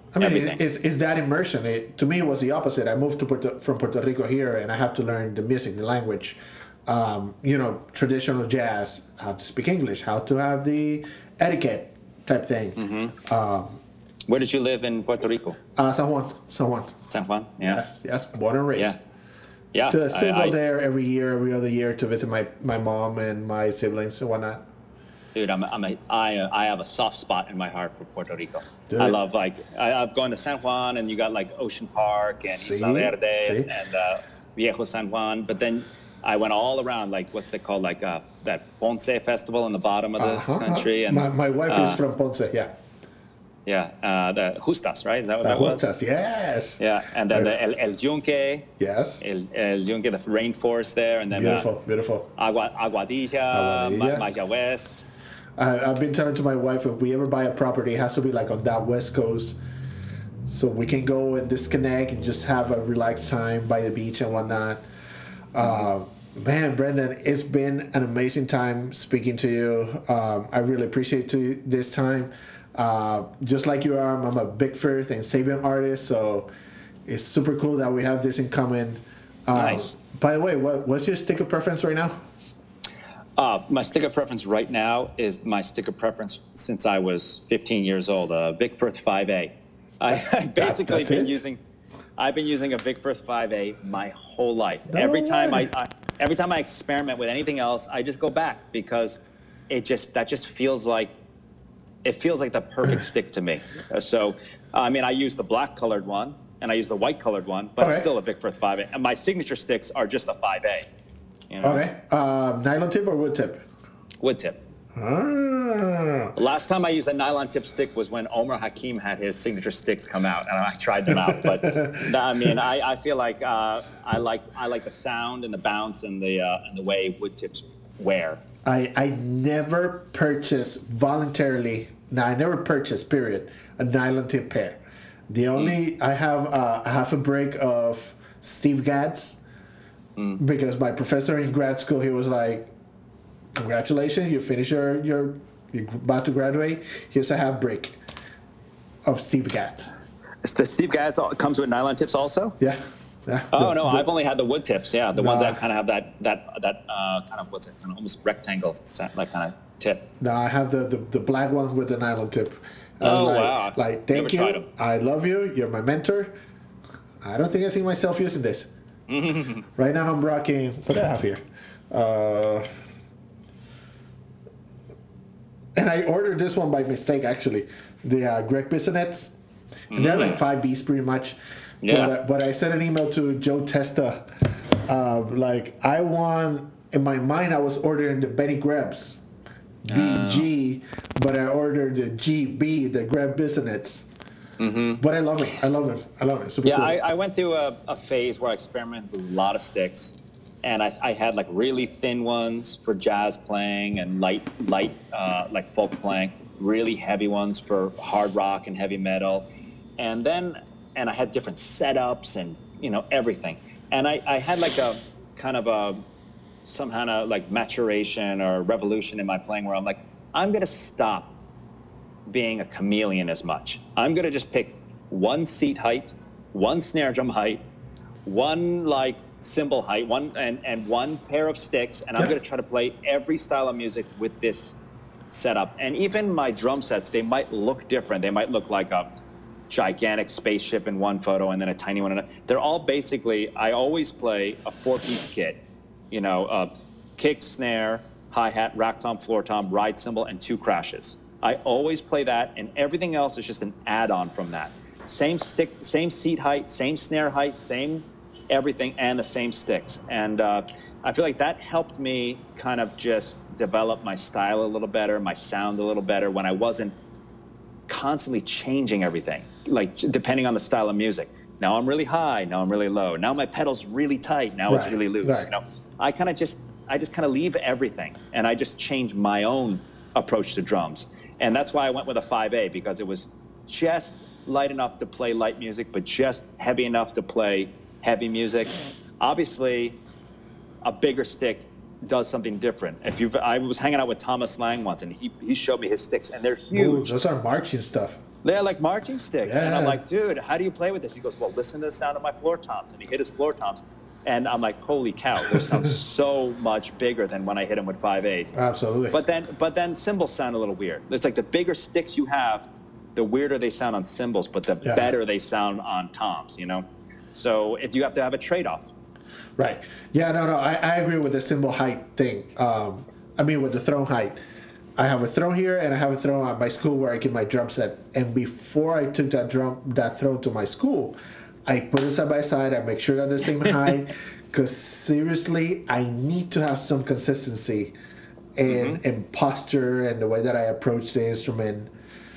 I mean, everything. it, it's, it's that immersion. It, to me, it was the opposite. I moved to Puerto, from Puerto Rico here, and I have to learn the music, the language, um, you know, traditional jazz, how to speak English, how to have the etiquette type thing. Mm-hmm. Um, Where did you live in Puerto Rico? uh, San Juan, San Juan. San Juan. Yeah. Yes, yes, born and raised. Yeah. Yeah. Still, still I, go I, there every year, every other year to visit my, my mom and my siblings and whatnot. Dude, I'm, I'm a, I, uh, I have a soft spot in my heart for Puerto Rico. Dude. I love, like, I, I've gone to San Juan, and you got, like, Ocean Park and See? Isla Verde See? and, and uh, Viejo San Juan. But then I went all around, like, what's it called, like uh, that Ponce Festival in the bottom of the Uh-huh. country. And My, my wife uh, is from Ponce, yeah. Yeah, uh, the Justas, right? Is that what Uh, that was? Justas, yes. Yeah, and then the El, El Yunque, Yes. El, El Yunque, the rainforest there, and then Beautiful, uh, beautiful. Agua, Aguadilla, Aguadilla. Ma- Mayagüez. I, I've been telling to my wife, if we ever buy a property, it has to be like on that west coast, so we can go and disconnect and just have a relaxed time by the beach and whatnot. Uh, man, Brendan, it's been an amazing time speaking to you. Um, I really appreciate to this time. Uh, just like you are, I'm a Big Firth and Sabian artist, so it's super cool that we have this in common. Uh, Nice. By the way, what, what's your sticker preference right now? Uh, my sticker preference right now is my sticker preference since I was fifteen years old, a Big Firth five A. I, I've basically that's been it? using, I've been using a Big Firth five A my whole life. No every time way. I, I, every time I experiment with anything else, I just go back because it just that just feels like, it feels like the perfect stick to me. Uh, So, I mean, I use the black colored one and I use the white colored one, but it's Okay. still a Big Firth five A. And my signature sticks are just a five A. You know? Okay. Uh, nylon tip or wood tip? Wood tip. Ah. Last time I used a nylon tip stick was when Omar Hakim had his signature sticks come out, and I tried them out. But no, I mean, I, I feel like uh, I like I like the sound and the bounce and the uh, and the way wood tips wear. I, I never purchased voluntarily, no, I never purchased, period, a nylon tip pair. The only, I have uh, a half a brick of Steve Gadd's because my professor in grad school, he was like, congratulations, you finish your, your, you're about to graduate, here's a half brick of Steve Gadd's. The Steve Gadd's all- comes with nylon tips also. Yeah. Yeah. Oh The- no, the- I've only had the wood tips. Yeah, the ones Nah. that kind of have that that that uh, kind of what's it, kind of almost rectangle, like kind of tip. No, I have the, the, the black one with the nylon tip. And I was Oh, like, wow. Like, Never thank you. tried 'em. I love you. You're my mentor. I don't think I see myself using this. Right now, I'm rocking. What do I have here? Uh, and I ordered this one by mistake, actually. The uh, Greg Bissonets. And they're like five Bs pretty much. Yeah. But, uh, but I sent an email to Joe Testa. Uh, like, I want, in my mind, I was ordering the Benny Grebs. B G, but I ordered the G B, the Greg Bissonets. Mm-hmm. But I love it. I love it. I love it. Super Yeah, cool. I, I went through a, a phase where I experimented with a lot of sticks, and I, I had like really thin ones for jazz playing and light, light uh, like folk playing. Really heavy ones for hard rock and heavy metal, and then and I had different setups and you know everything. And I, I had like a kind of a some kind of like maturation or revolution in my playing where I'm like, I'm gonna stop being a chameleon as much. I'm gonna just pick one seat height, one snare drum height, one like cymbal height, one and, and one pair of sticks, and I'm Yeah. gonna try to play every style of music with this setup. And even my drum sets, they might look different. They might look like a gigantic spaceship in one photo and then a tiny one in another. They're all basically, I always play a four-piece kit. You know, uh, kick, snare, hi-hat, rack tom, floor tom, ride cymbal, and two crashes. I always play that, and everything else is just an add-on from that. Same stick, same seat height, same snare height, same everything, and the same sticks. And uh, I feel like that helped me kind of just develop my style a little better, my sound a little better when I wasn't constantly changing everything, like depending on the style of music. Now I'm really high, now I'm really low. Now my pedal's really tight, now it's Right, really loose. right. You know, I kind of just, I just kind of leave everything, and I just change my own approach to drums. And that's why I went with a five A, because it was just light enough to play light music, but just heavy enough to play heavy music. Obviously, a bigger stick does something different. If you've, I was hanging out with Thomas Lang once, and he, he showed me his sticks, and they're Ooh, huge. those are marching stuff. They're like marching sticks. And I'm Yeah. like, dude, how do you play with this? He goes, well, listen to the sound of my floor toms. And he hit his floor toms. And I'm like, holy cow, those sound so much bigger than when I hit them with five A's. Absolutely. But then, but then cymbals sound a little weird. It's like the bigger sticks you have, the weirder they sound on cymbals, but the Yeah. better they sound on toms, you know? So if you have to have a trade-off. Right. Yeah, no, no, I, I agree with the cymbal height thing. Um, I mean, with the throne height. I have a throne here, and I have a throne at my school where I get my drum set. And before I took that drum, that throne to my school, I put it side by side. I make sure they're the same height. Because seriously, I need to have some consistency in, Mm-hmm. in posture and the way that I approach the instrument.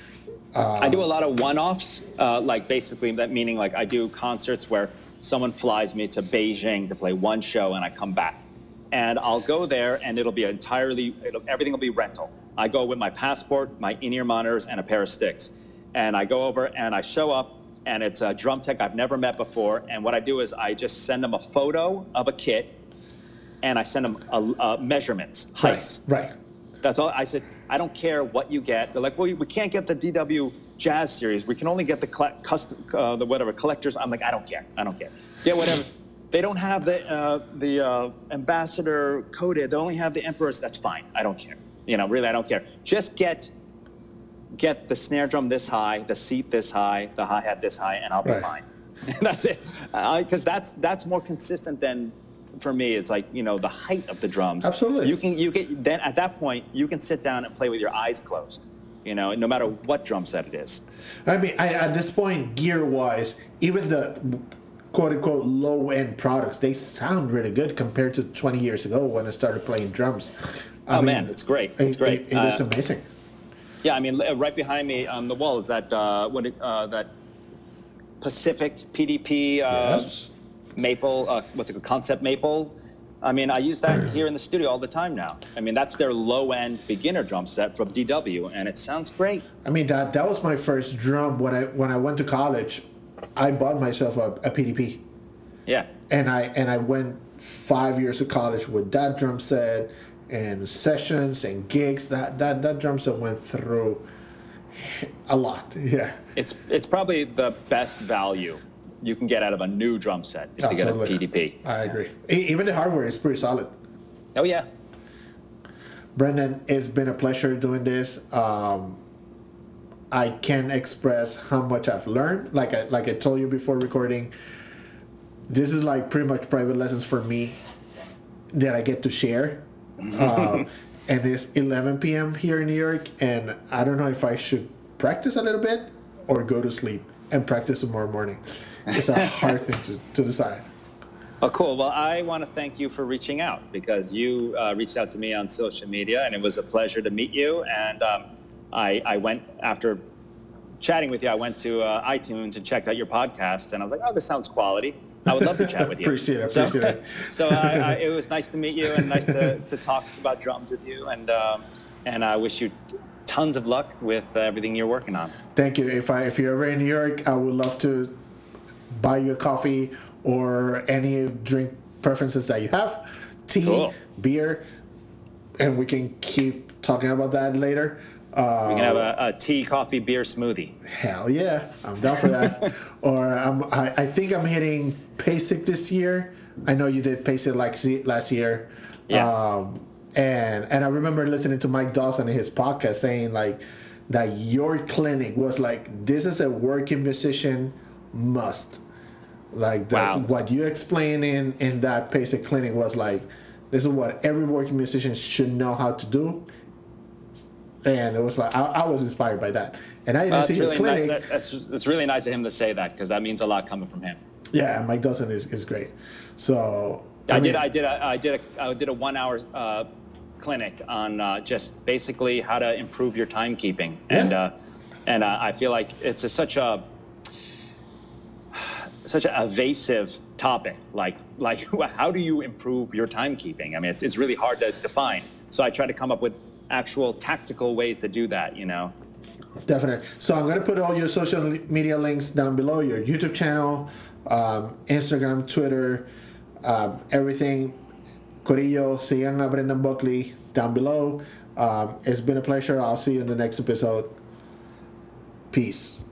I do a lot of one-offs, uh, like basically that meaning like I do concerts where someone flies me to Beijing to play one show and I come back. And I'll go there and it'll be entirely, it'll, everything will be rental. I go with my passport, my in-ear monitors, and a pair of sticks. And I go over and I show up and it's a drum tech I've never met before. And what I do is I just send them a photo of a kit and I send them a, uh, measurements, heights. Right. Right. That's all. I said, I don't care what you get. They're like, well, we can't get the D W Jazz series. We can only get the coll- custom, uh, the whatever collectors. I'm like, I don't care. I don't care. Yeah, whatever. They don't have the uh, the uh, ambassador coated. They only have the emperors. That's fine. I don't care. You know, really, I don't care. Just get get the snare drum this high, the seat this high, the hi hat this high, and I'll be Right. fine. That's it. Because that's that's more consistent than. For me, is like, you know, the height of the drums. Absolutely. You can you can then at that point you can sit down and play with your eyes closed. You know, no matter what drum set it is. I mean, I, at this point, gear-wise, even the quote-unquote low-end products, they sound really good compared to twenty years ago when I started playing drums. I Oh mean, man, it's great. It's it- great. It, it is Uh, amazing. Yeah, I mean, uh, right behind me on the wall is that uh, what it, uh, that Pacific P D P uh, Yes. maple. Uh, what's it called? Concept maple. I mean, I use that here in the studio all the time now. I mean, that's their low-end beginner drum set from D W, and it sounds great. I mean, that that was my first drum when I when I went to college. I bought myself a, a P D P, Yeah. and I and I went five years to college with that drum set and sessions and gigs. That that that drum set went through a lot. Yeah. It's it's probably the best value you can get out of a new drum set is to get a Absolutely. P D P. I agree. E- Even the hardware is pretty solid. Oh yeah. Brendan, it's been a pleasure doing this. Um, I can't express how much I've learned. Like I like I told you before recording, this is like pretty much private lessons for me that I get to share. um, and it's eleven p.m. here in New York, and I don't know if I should practice a little bit or go to sleep and practice tomorrow morning. It's a hard thing to, to decide. Oh, cool. Well, I want to thank you for reaching out because you uh, reached out to me on social media, and it was a pleasure to meet you. And um, I, I went after chatting with you. I went to uh, iTunes and checked out your podcast, and I was like, "Oh, this sounds quality. I would love to chat with you." Appreciate it, So, appreciate it. so I, I, it was nice to meet you and nice to, to talk about drums with you. And um, and I wish you tons of luck with uh, everything you're working on. Thank you. If I if you're ever in New York, I would love to buy you a coffee or any drink preferences that you have, tea, Cool. beer, and we can keep talking about that later. Uh, We can have a, a tea, coffee, beer smoothie. Hell yeah, I'm down for that. or I'm, I, I think I'm hitting PASIC this year. I know you did PASIC like z- last year. Yeah. Um, and and I remember listening to Mike Dawson in his podcast saying like that your clinic was like, this is a working musician must. Like that, Wow. what you explained in, in that PASIC clinic was like, this is what every working musician should know how to do. And it was like I, I was inspired by that, and I didn't Uh, see it's your really clinic. nice. That, that's it's really nice of him to say that because that means a lot coming from him. Yeah, Mike Dawson is, is great. So I, mean, did. I did. A, I did. A, I did a one-hour uh, clinic on uh, just basically how to improve your timekeeping, and Yeah. uh, and uh, I feel like it's a, such a such an evasive topic. Like like how do you improve your timekeeping? I mean, it's it's really hard to define. So I try to come up with actual tactical ways to do that. You know. Definitely. So I'm gonna put all your social media links down below, your YouTube channel, um, Instagram, Twitter, um, everything. Corillo, sigan a Brendan Buckley down below. Um, it's been a pleasure. I'll see you in the next episode. Peace.